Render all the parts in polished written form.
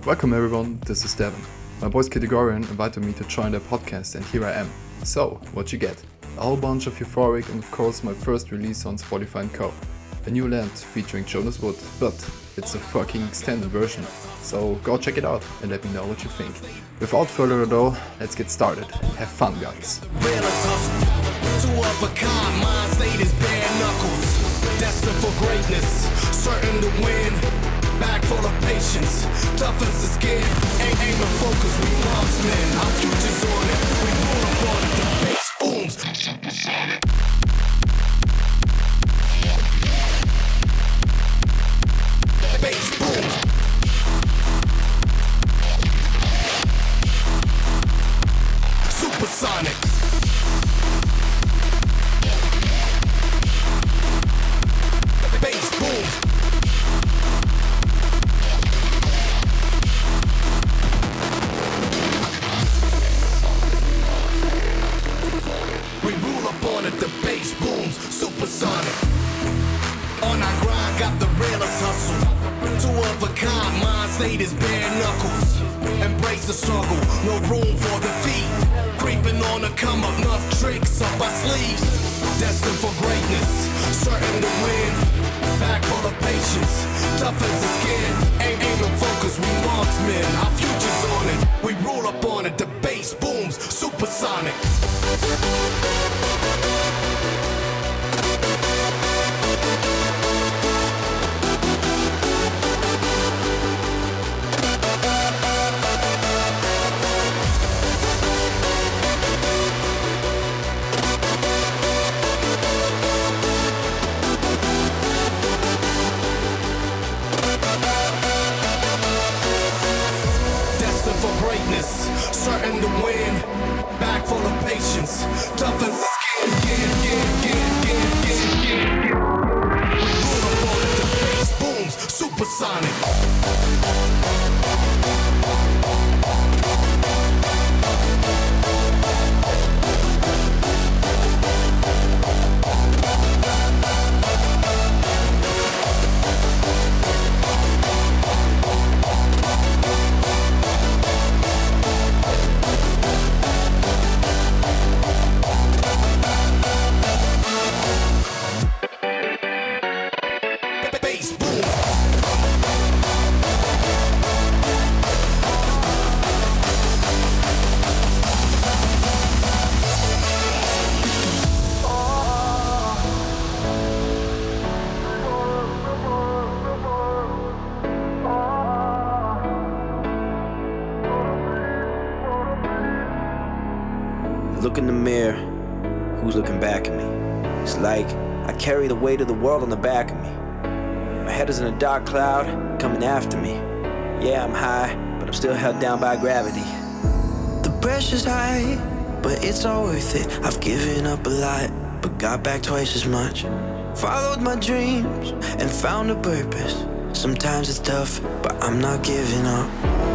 Welcome everyone, this is Devin. My boys Categorian invited me to join their podcast and here I am. So, what you get? A whole bunch of euphoric and of course my first release on Spotify and Co. A new land featuring Jonas Wood, but it's a fucking extended version. So go check it out and let me know what you think. Without further ado, let's get started. Have fun guys. Two of a kind, mind state is bare knuckles. Destined for greatness, certain to win. Back full of patience, tough as the skin. Aim and focus, we marksmen. Our future's on it, we pull up on it. The bass booms. Bass booms. Supersonic. Bass booms. We rule up on it, the bass booms, supersonic. On our grind, got the realest hustle. Two of a kind, mind state is bare knuckles. Embrace the struggle, no room for defeat. Creeping on the come up, enough tricks up our sleeves. Destined for greatness, certain to win. Back full of patience, tough as the skin. Aim and focus, we marksmen. Our future's on it, we rule up on it. The bass booms, supersonic. Certain to win, back full of patience, tough as the skin. We rule up on it, the bass booms, supersonic. Look in the mirror, who's looking back at me? It's like I carry the weight of the world on the back of me. My head is in a dark cloud, coming after me. Yeah, I'm high, but I'm still held down by gravity. The pressure's high, but it's all worth it. I've given up a lot, but got back twice as much. Followed my dreams and found a purpose. Sometimes it's tough, but I'm not giving up.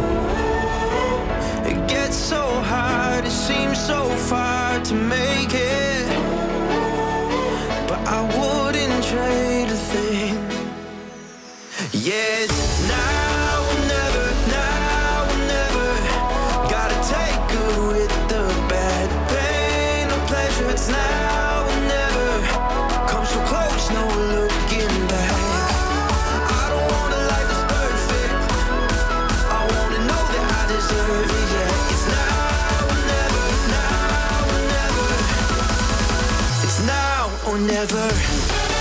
It gets so hard, it seems so far to make it, but I wouldn't trade a thing. Yeah, it's now or never, now or never. Gotta take good with the bad, pain or pleasure. It's now or never. Come so close, no looking back. I don't want a life that's perfect. I wanna know that I deserve it. Yeah, it's now or never, now or never. It's now or never.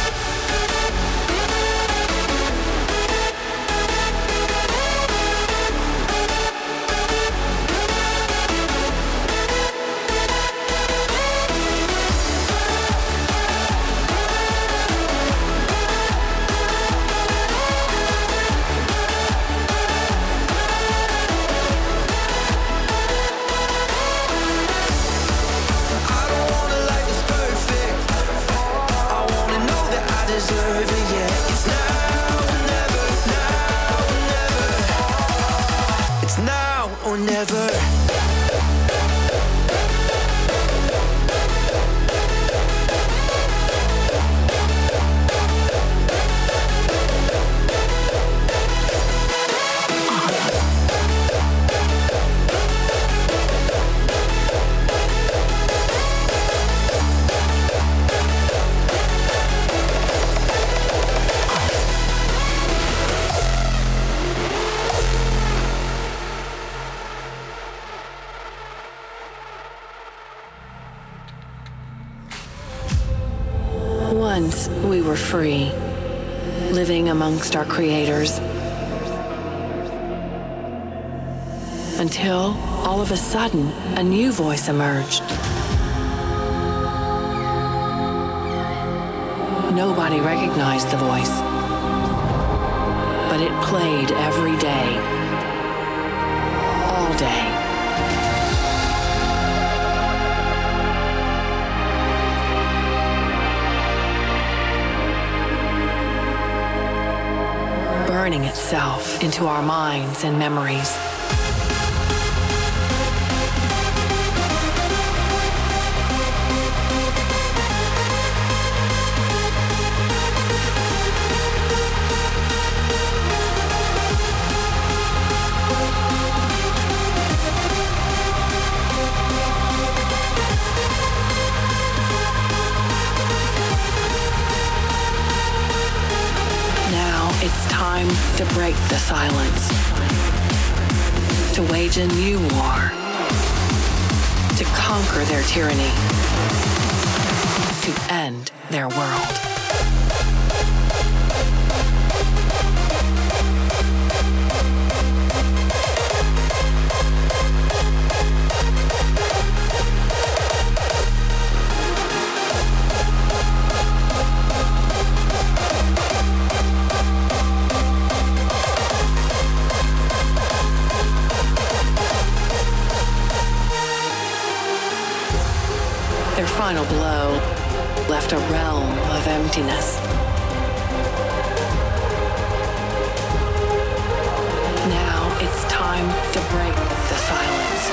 Or never. free, living amongst our creators. Until, all of a sudden, a new voice emerged. Nobody recognized the voice, but it played every day, all day. Burning itself into our minds and memories. It's time to break the silence, to wage a new war, to conquer their tyranny, to end their world. Their final blow left a realm of emptiness. Now it's time to break the silence.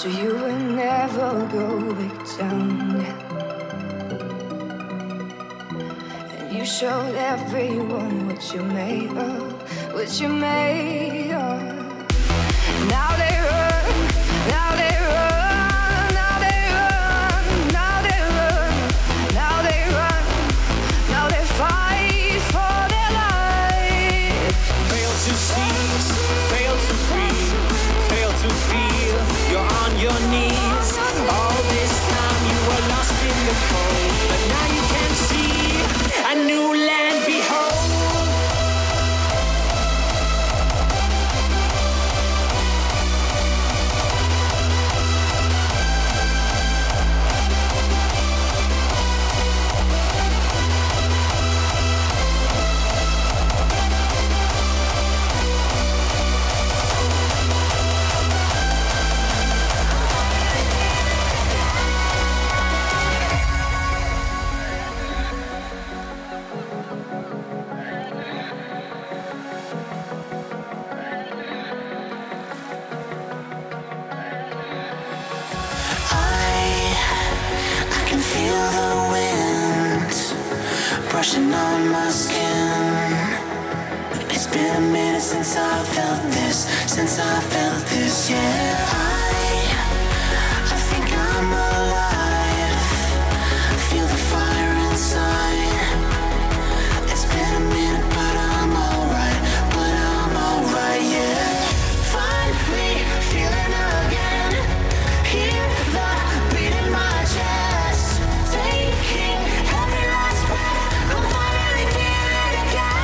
so you will never go back down. And you showed everyone what you're made of, what you're made of. Now they run, now they run, now they run, now they run, now they run, now they fight for their life. Fail to see, fail to breathe, fail to feel, you're on your knees. All this time you were lost in the cold, but now you can see a new land, behold. Brushing on my skin. It's been a minute since I felt this, yeah. I think I'm alive. Feel the fire inside. It's been a minute, but I'm alright, yeah. Finally feeling again. Hear the beat in my chest. Taking every last breath. I'm finally feeling again.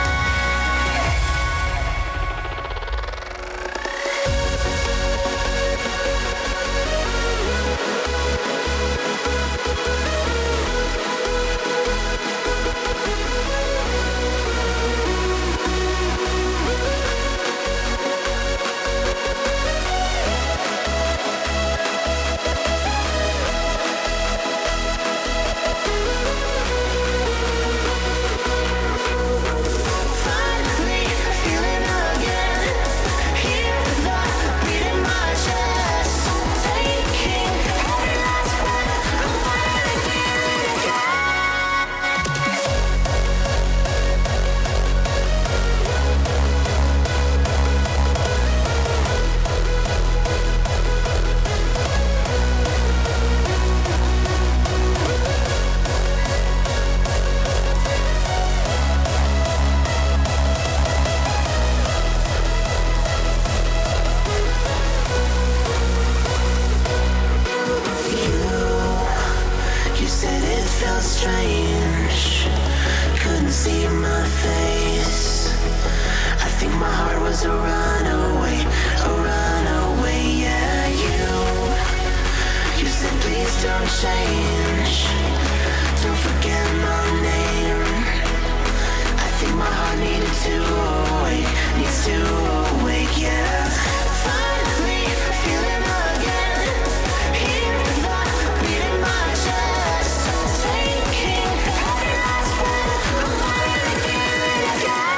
Finally feeling again. Hear the beat in my chest. Taking every last breath. I'm finally feeling again. You said it felt strange. Couldn't see my face. I think my heart was a runaway, yeah. You said please don't change. Don't forget my name. I think my heart needs to awake, yeah. Finally feeling again. Hear the beat in my chest. Taking every last breath. I'm finally feeling again.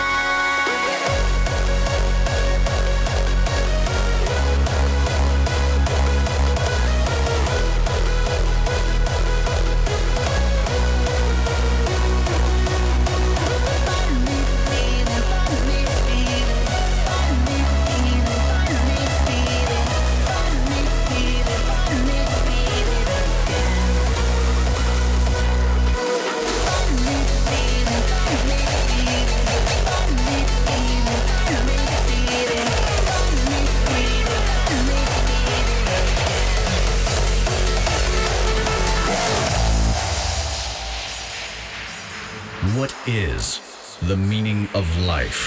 What is the meaning of life?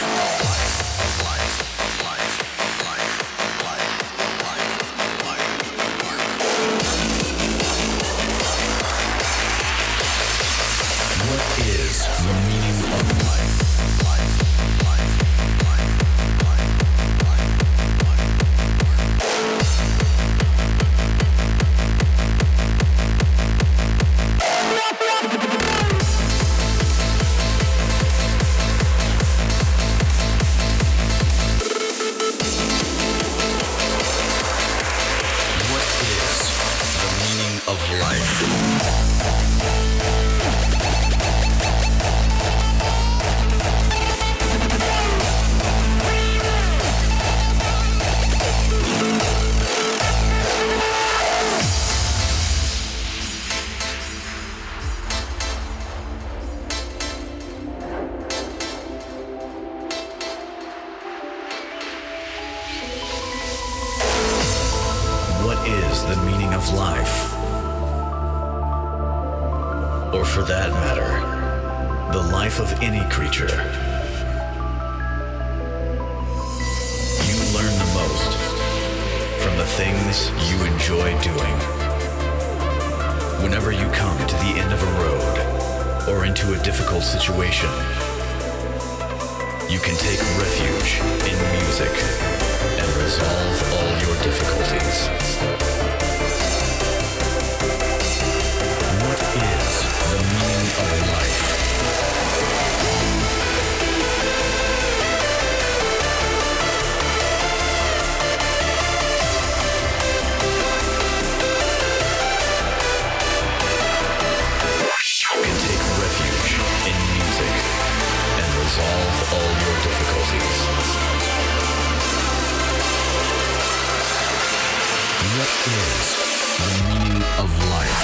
What is the meaning of life? for that matter, the life of any creature. You learn the most from the things you enjoy doing. Whenever you come to the end of a road or into a difficult situation, you can take refuge in music and resolve all your difficulties. What is the meaning of life? You can take refuge in music and resolve all your difficulties. What is the meaning of life?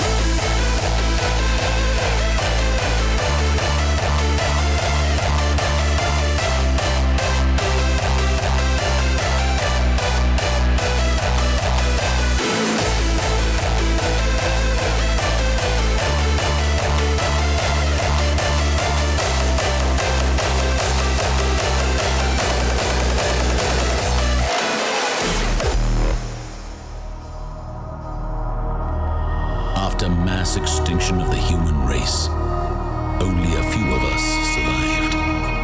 After mass extinction of the human race, only a few of us survived.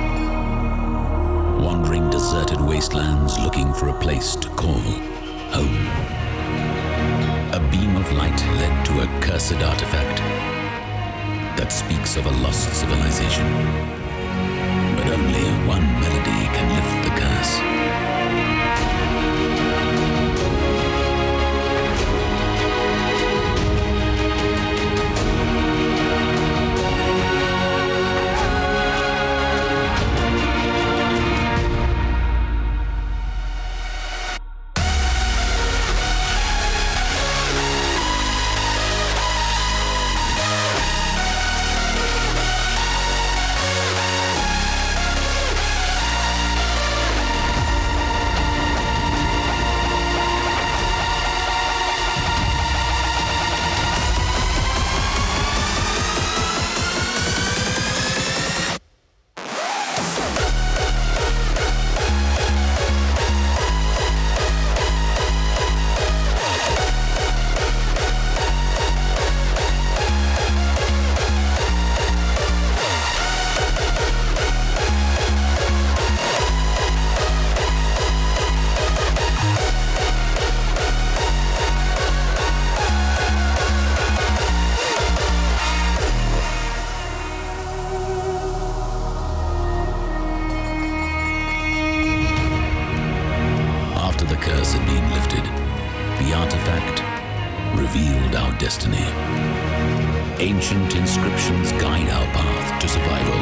Wandering deserted wastelands looking for a place to call home. A beam of light led to a cursed artifact that speaks of a lost civilization. But only one melody can lift the curse. Curse had been lifted, the artifact revealed our destiny. Ancient inscriptions guide our path to survival.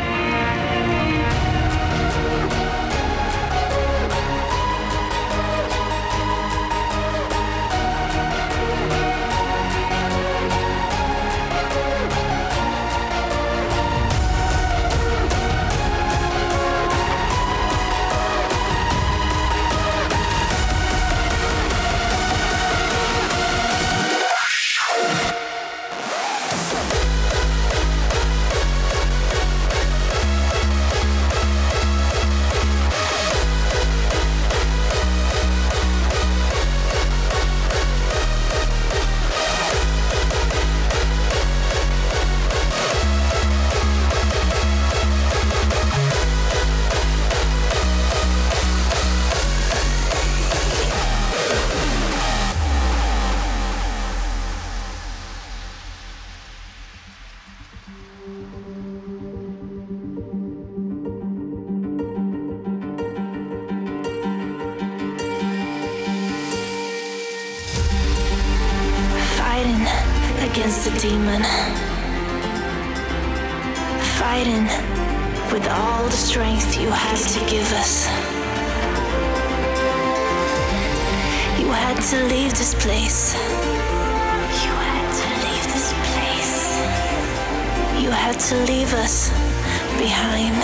Against the demon, fighting with all the strength you had to give us. You had to leave this place. You had to leave this place. You had to leave us behind.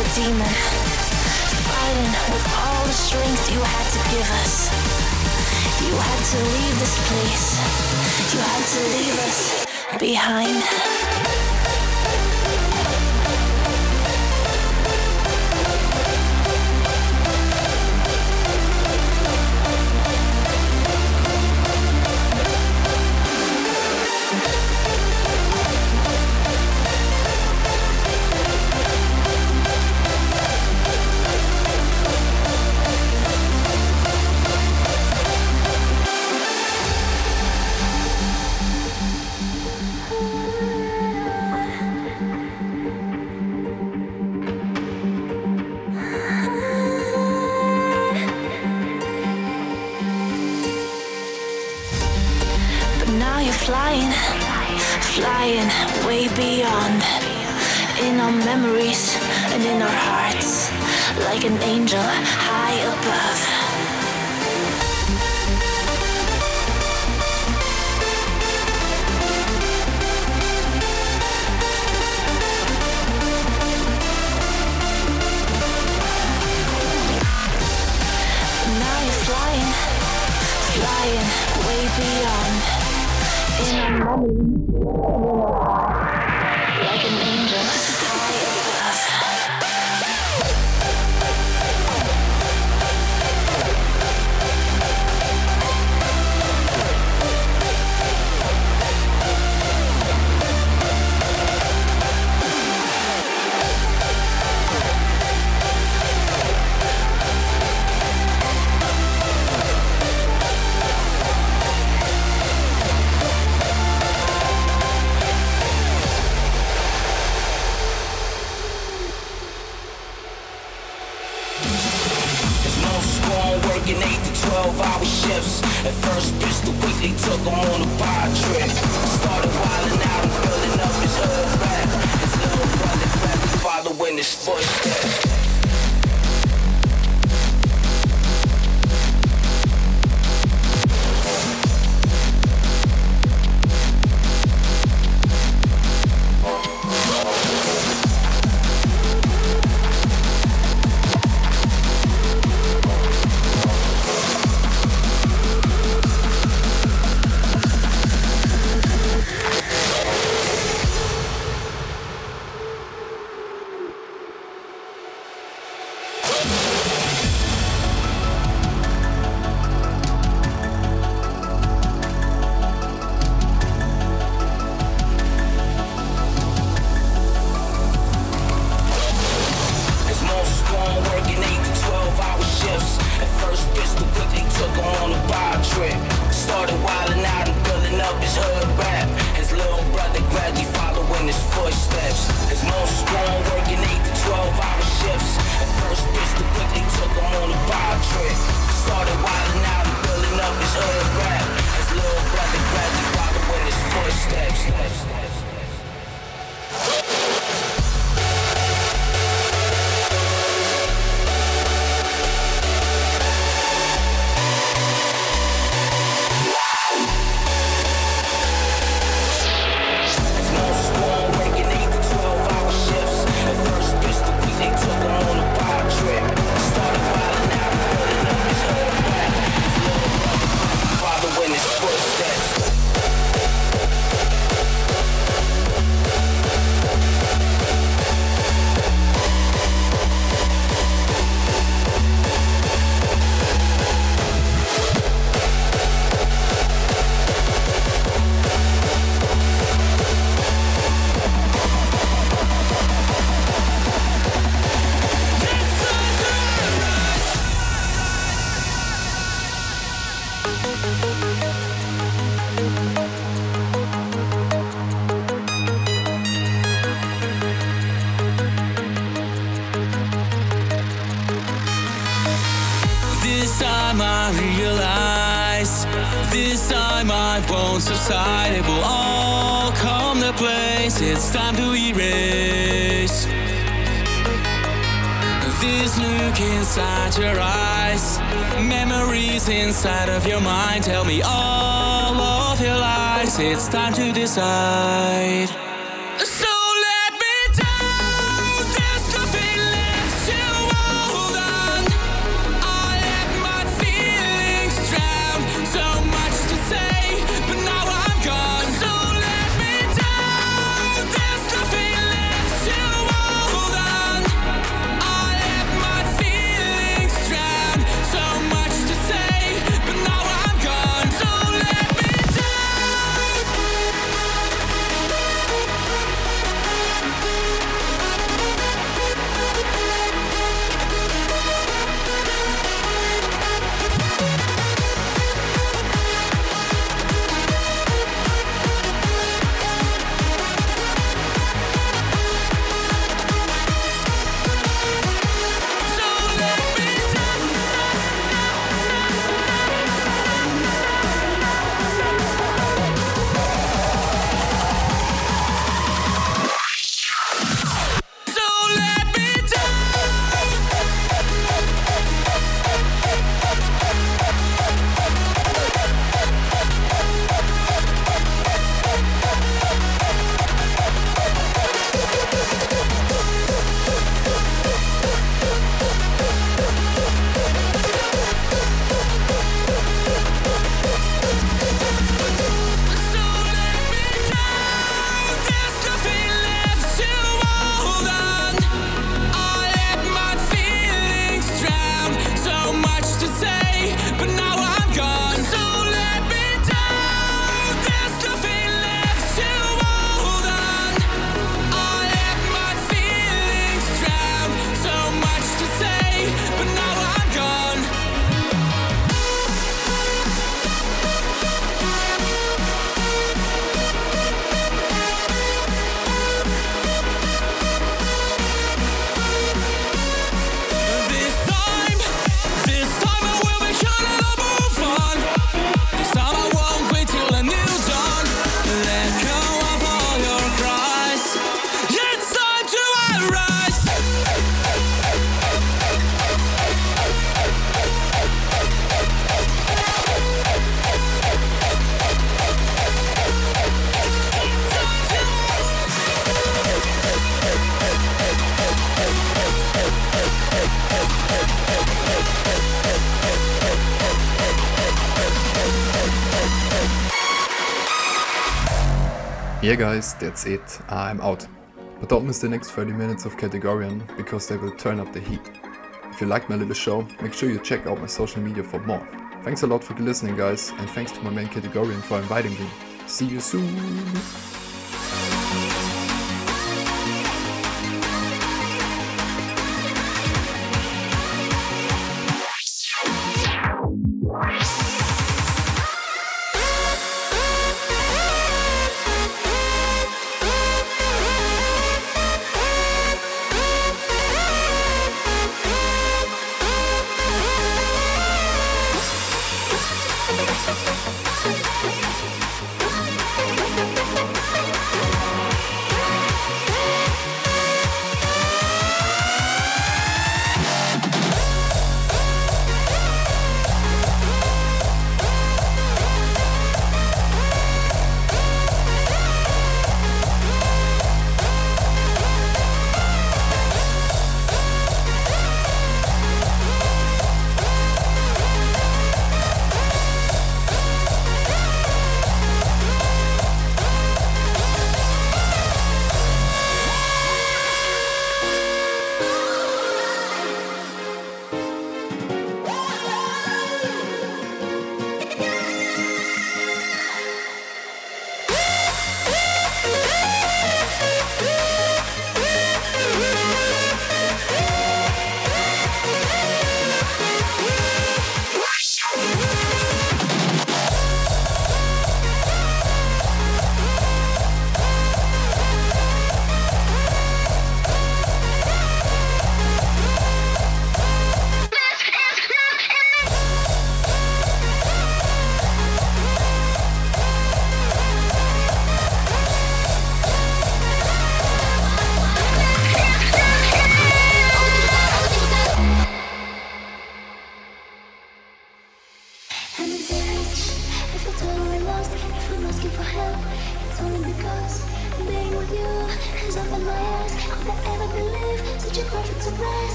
a demon, fighting with all the strength you had to give us. You had to leave this place. You had to leave us behind. Flying, flying way beyond, in our memories and in our hearts, like an angel high above. Now you're flying, flying way beyond. In our memories, in our hearts, like an angel high above. Working 8 to 12-hour shifts. At first, Pistol quickly took him on a bar trip. Started wilding out and building up his hood rap. His little brother gladly following his footsteps. This time I won't subside, it will all come to place. It's time to erase this look inside your eyes, memories inside of your mind. Tell me all of your lies, it's time to decide. So let me down, there's nothing left. Yeah guys, that's it. I'm out. But don't miss the next 30 minutes of Categorian, because they will turn up the heat. If you like my little show, make sure you check out my social media for more. Thanks a lot for listening guys, and thanks to my main Categorian for inviting me. See you soon!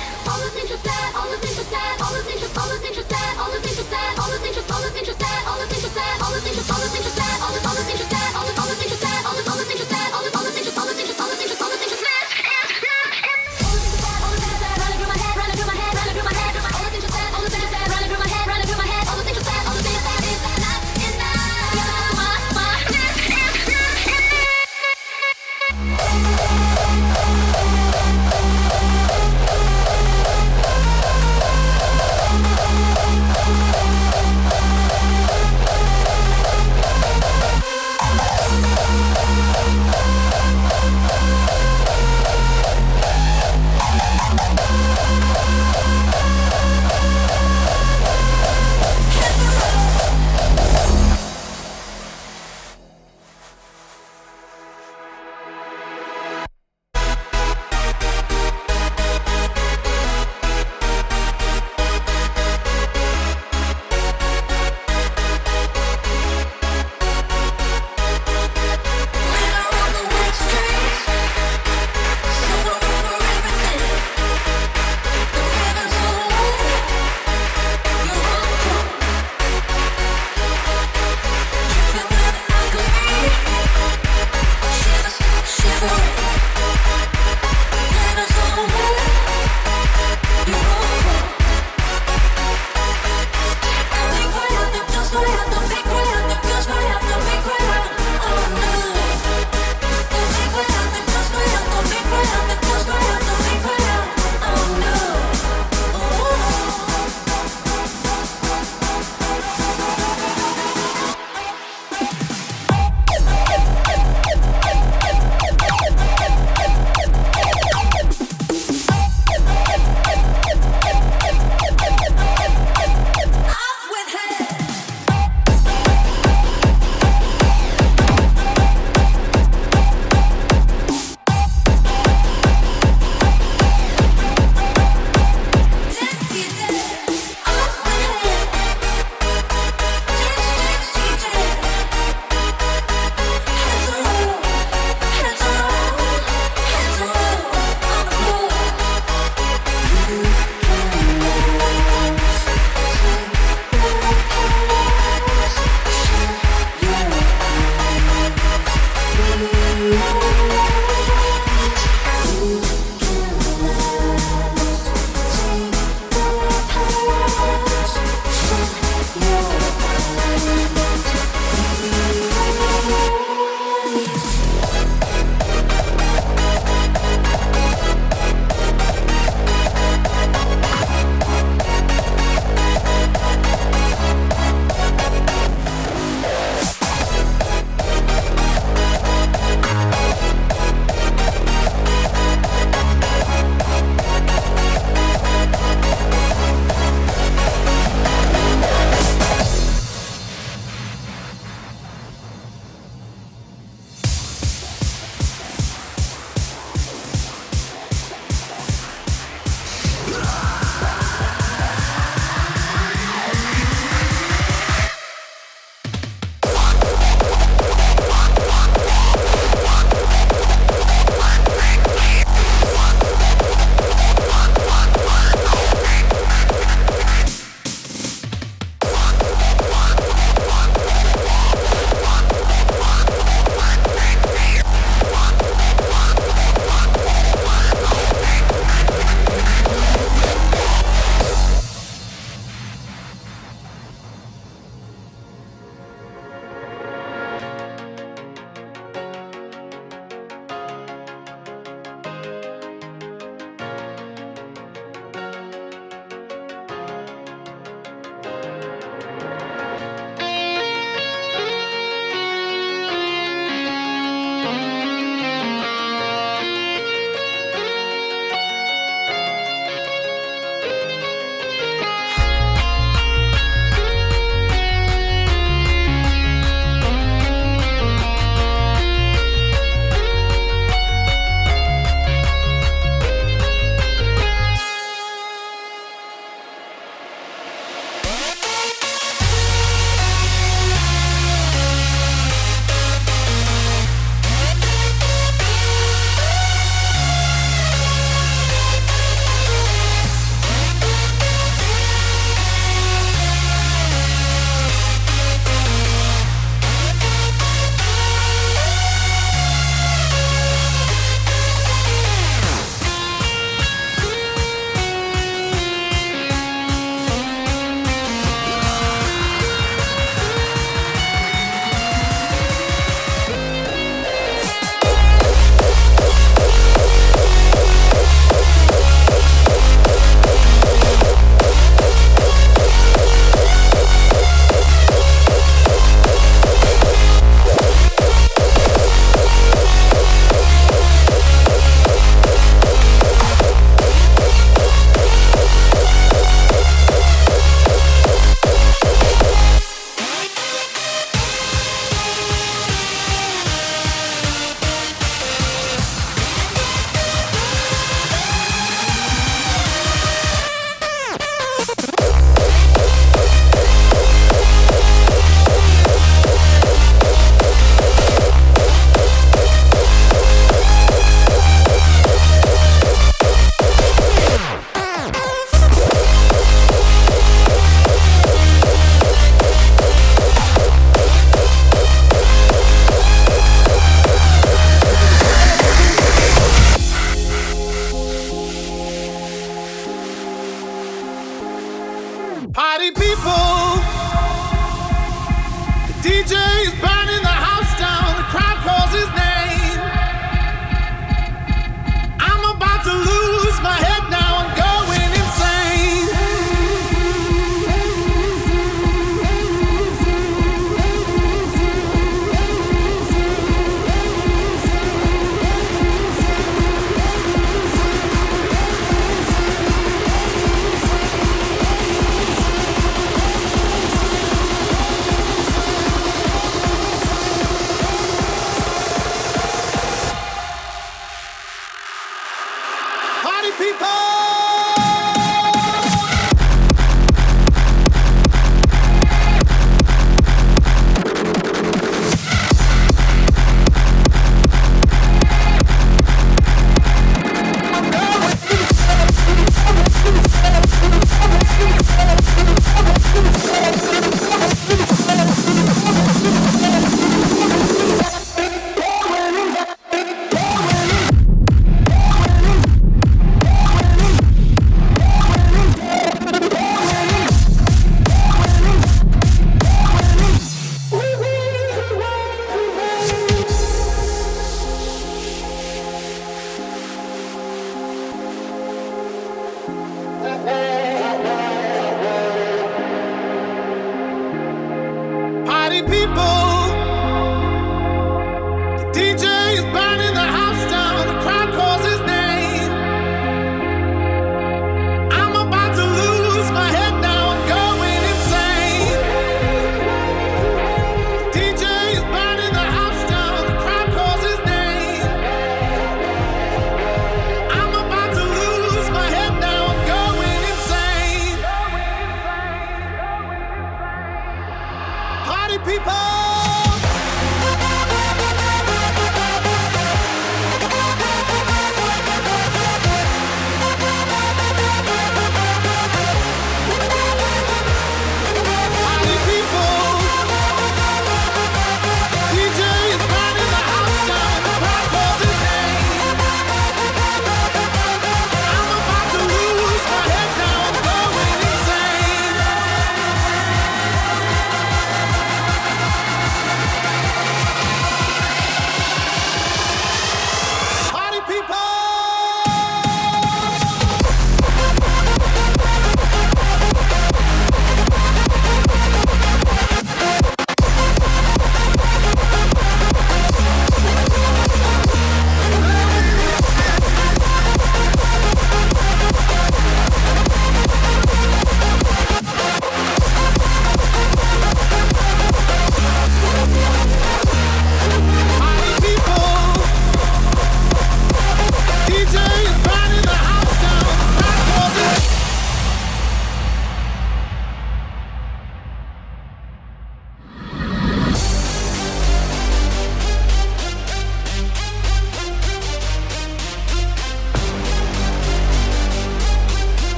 All the things you said, all the things you said, all the things you said, all the things you said, all the things you said, all the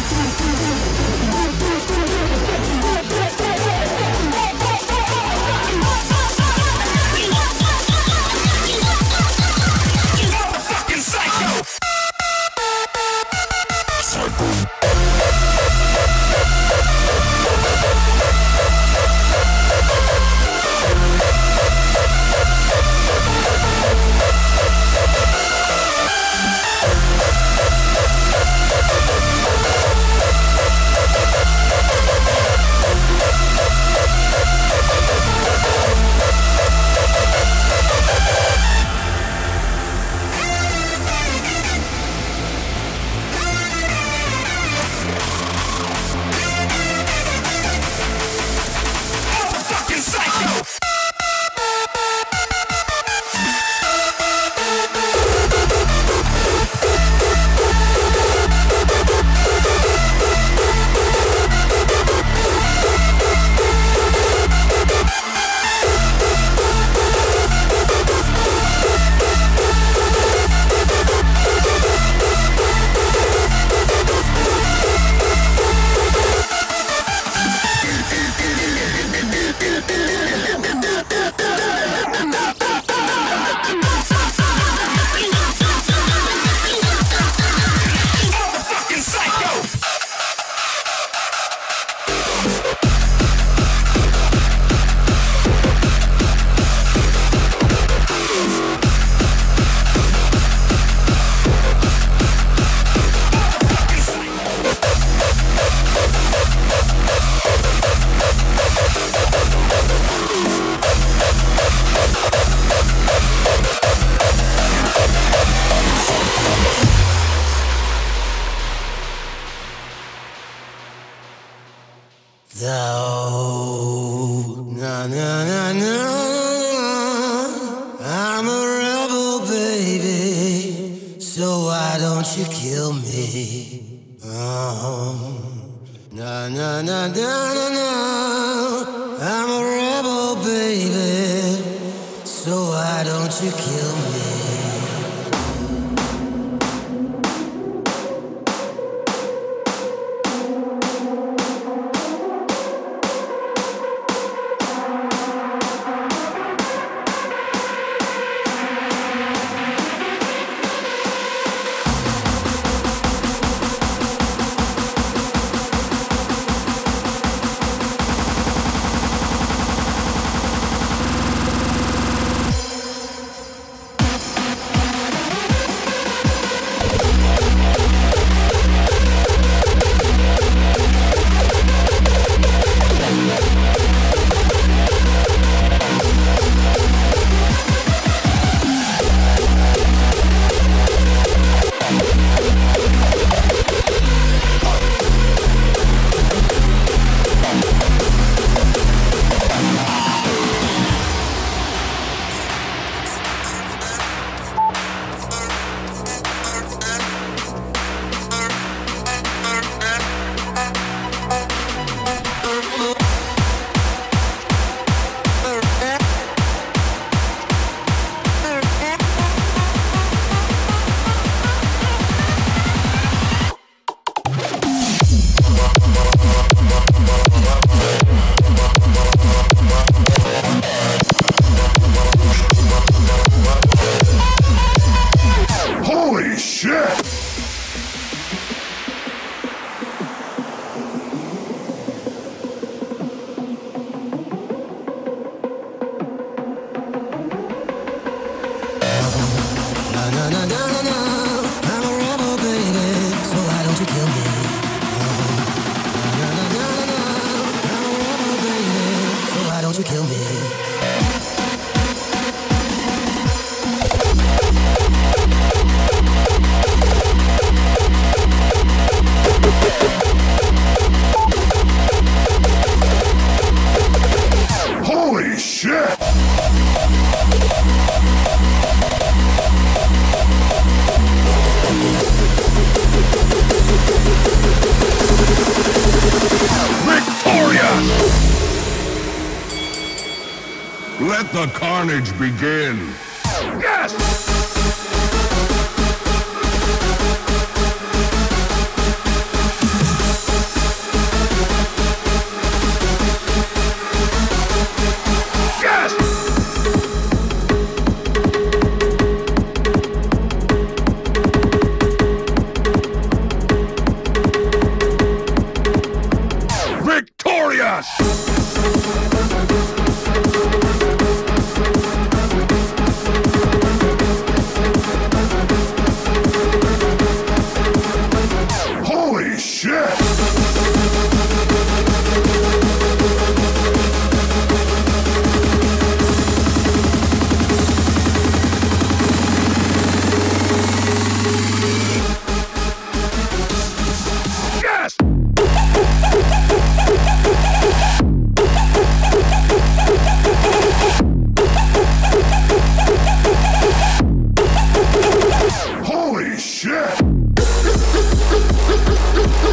Though, na na na na, I'm a rebel, baby. So why don't you kill me? Na na na na na na, I'm a rebel, baby. So why don't you kill me? Holy shit! Holy shit! Victoria! Let the carnage begin. Yes!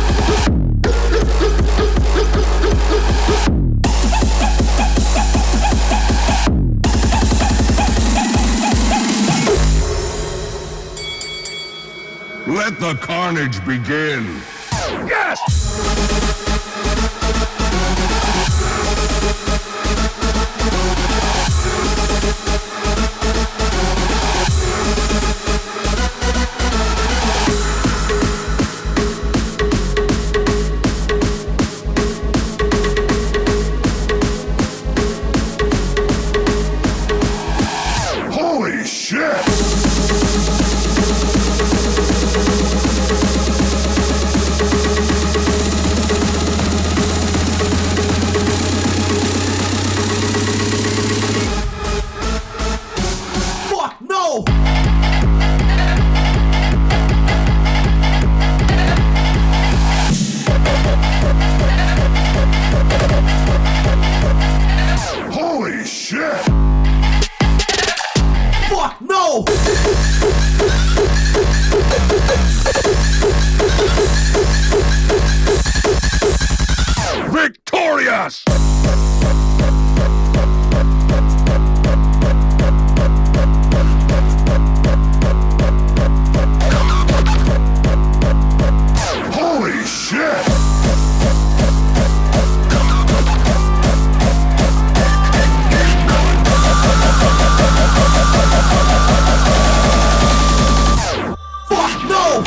Let the carnage begin. Yes! Holy shit! Fuck no! Holy shit! Fuck no! Victorious! Holy shit! Fuck no!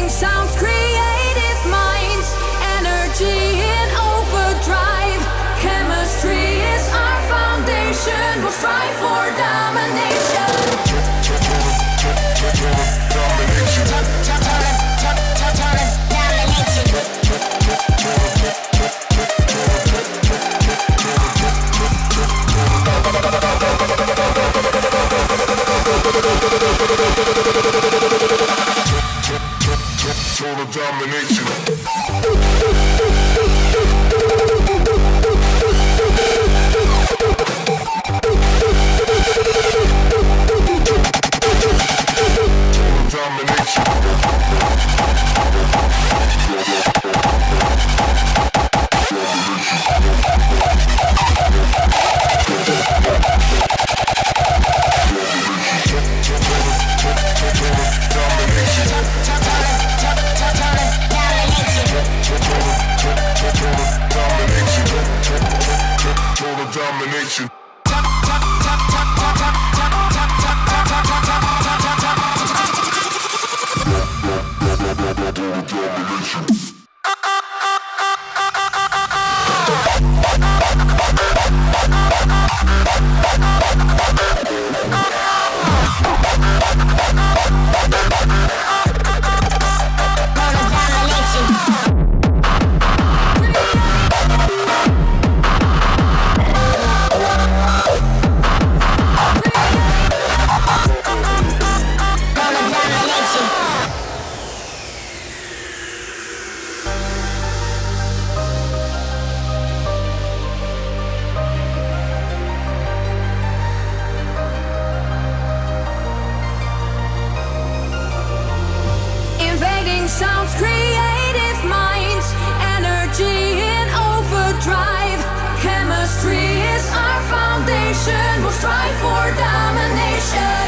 Invading sounds, creative minds, energy in overdrive. Chemistry is our foundation. We'll strive for domination. Total domination. Domination. Sounds, creative minds, energy in overdrive. Chemistry is our foundation. We'll strive for domination.